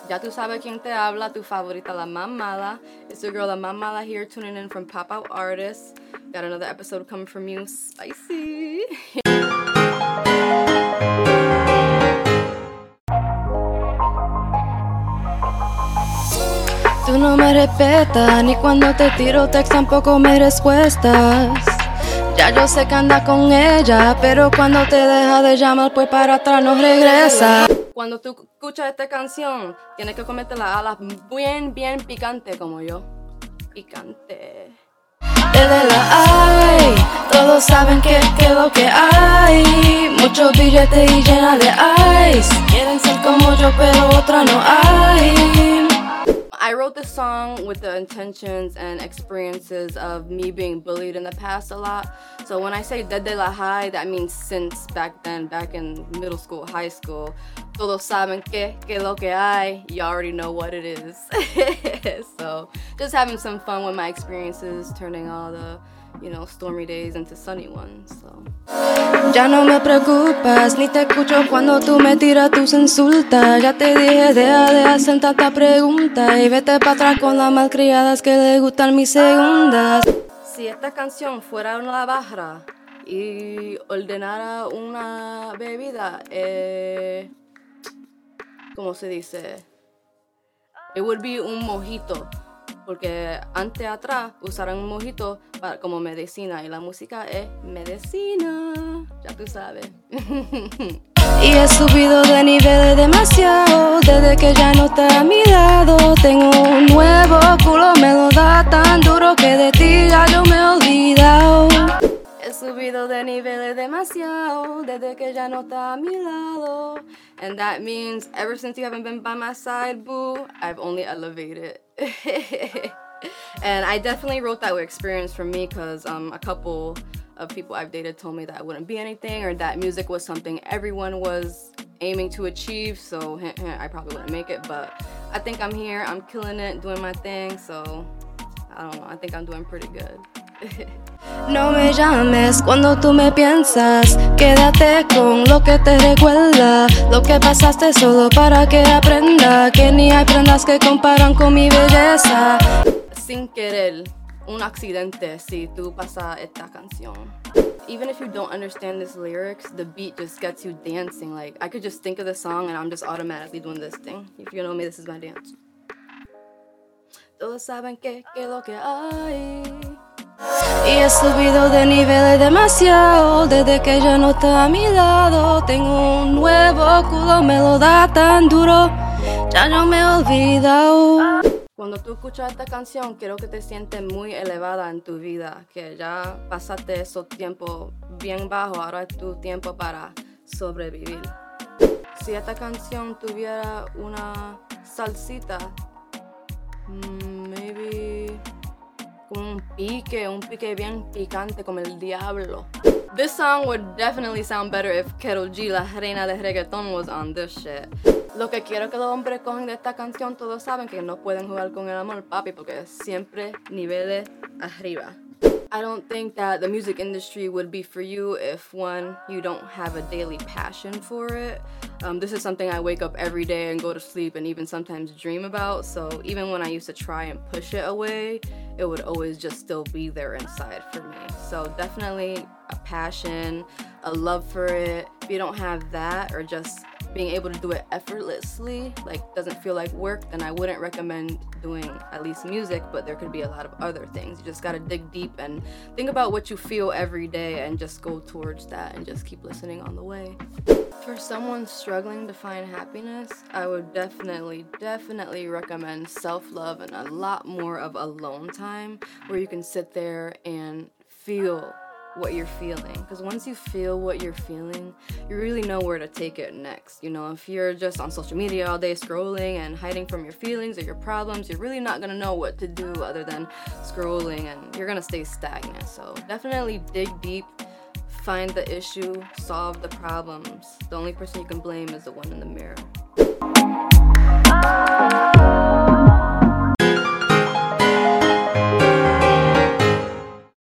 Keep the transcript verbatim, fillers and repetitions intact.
Ya tú sabes quién te habla, tu favorita, la más mala. It's your girl, la más mala here, tuning in from Pop Out Artists. Got another episode coming from you, spicy. Tú no me respetas, ni cuando te tiro text tampoco me respuestas. Ya yo sé que andas con ella, pero cuando te deja de llamar, pues para atrás no regresa. Cuando tú escuchas esta canción, tienes que comerte las alas bien, bien picante como yo. Picante. Desde la hay, todos saben que es lo que hay. Muchos billetes y llena de ice. Quieren ser como yo, pero otra no hay. I wrote this song with the intentions and experiences of me being bullied in the past a lot. So when I say desde la high, that means since back then, back in middle school, high school. Todos saben que, que lo que hay, you already know what it is. So just having some fun with my experiences, turning all the, you know, stormy days into sunny ones. So. Ya no me preocupas, ni te escucho cuando tú me tiras tus insultas. Ya te dije, deja de hacer tanta pregunta y vete para atrás con las malcriadas que le gustan mis segundas. Si esta canción fuera una barra y ordenara una bebida, eh, ¿cómo se dice? It would be un mojito. Porque antes atrás usaron un mojito para, como medicina y la música es medicina, ya tú sabes. Y he subido de niveles demasiado, desde que ya no está a mi lado. Tengo un nuevo culo, me lo da tan duro que de ti ya yo me he olvidado. He subido de niveles demasiado, desde que ya no está a mi lado. And that means ever since you haven't been by my side, boo, I've only elevated. And I definitely wrote that with experience from me because um, a couple of people I've dated told me that I wouldn't be anything or that music was something everyone was aiming to achieve, so hint, hint, I probably wouldn't make it, but I think I'm here, I'm killing it, doing my thing, so I don't know, I think I'm doing pretty good. No me llames cuando tú me piensas, quédate con lo que te recuerda, lo que pasaste solo para que aprenda, que ni hay prendas que comparan con mi belleza. Sin querer, un accidente si tú pasas esta canción. Even if you don't understand this lyrics, the beat just gets you dancing. Like, I could just think of the song and I'm just automatically doing this thing. If you know me, this is my dance. Todos saben que, que lo que hay. Y he subido de niveles demasiado, desde que ya no está a mi lado. Tengo un nuevo culo, me lo da tan duro, ya no me he olvidado. Cuando tú escuchas esta canción, quiero que te sientes muy elevada en tu vida, que ya pasaste esos tiempos bien bajos, ahora es tu tiempo para sobrevivir. Si esta canción tuviera una salsita, mm, maybe un pique, un pique bien picante como el diablo. This song would definitely sound better if Karol G, la reina de reggaeton, was on this shit. Lo que quiero que los hombres cogen de esta canción, todos saben que no pueden jugar con el amor, papi, porque es siempre niveles arriba. I don't think that the music industry would be for you if, one, you don't have a daily passion for it. Um, this is something I wake up every day and go to sleep and even sometimes dream about. So even when I used to try and push it away, it would always just still be there inside for me. So definitely a passion, a love for it. If you don't have that, or just being able to do it effortlessly, like doesn't feel like work, then I wouldn't recommend doing at least music, but there could be a lot of other things. You just gotta dig deep and think about what you feel every day and just go towards that and just keep listening on the way. For someone struggling to find happiness, I would definitely, definitely recommend self-love and a lot more of alone time where you can sit there and feel what you're feeling, because once you feel what you're feeling, you really know where to take it next. You know, if you're just on social media all day scrolling and hiding from your feelings or your problems, you're really not gonna know what to do other than scrolling, and you're gonna stay stagnant. So definitely dig deep, find the issue, solve the problems. The only person you can blame is the one in the mirror.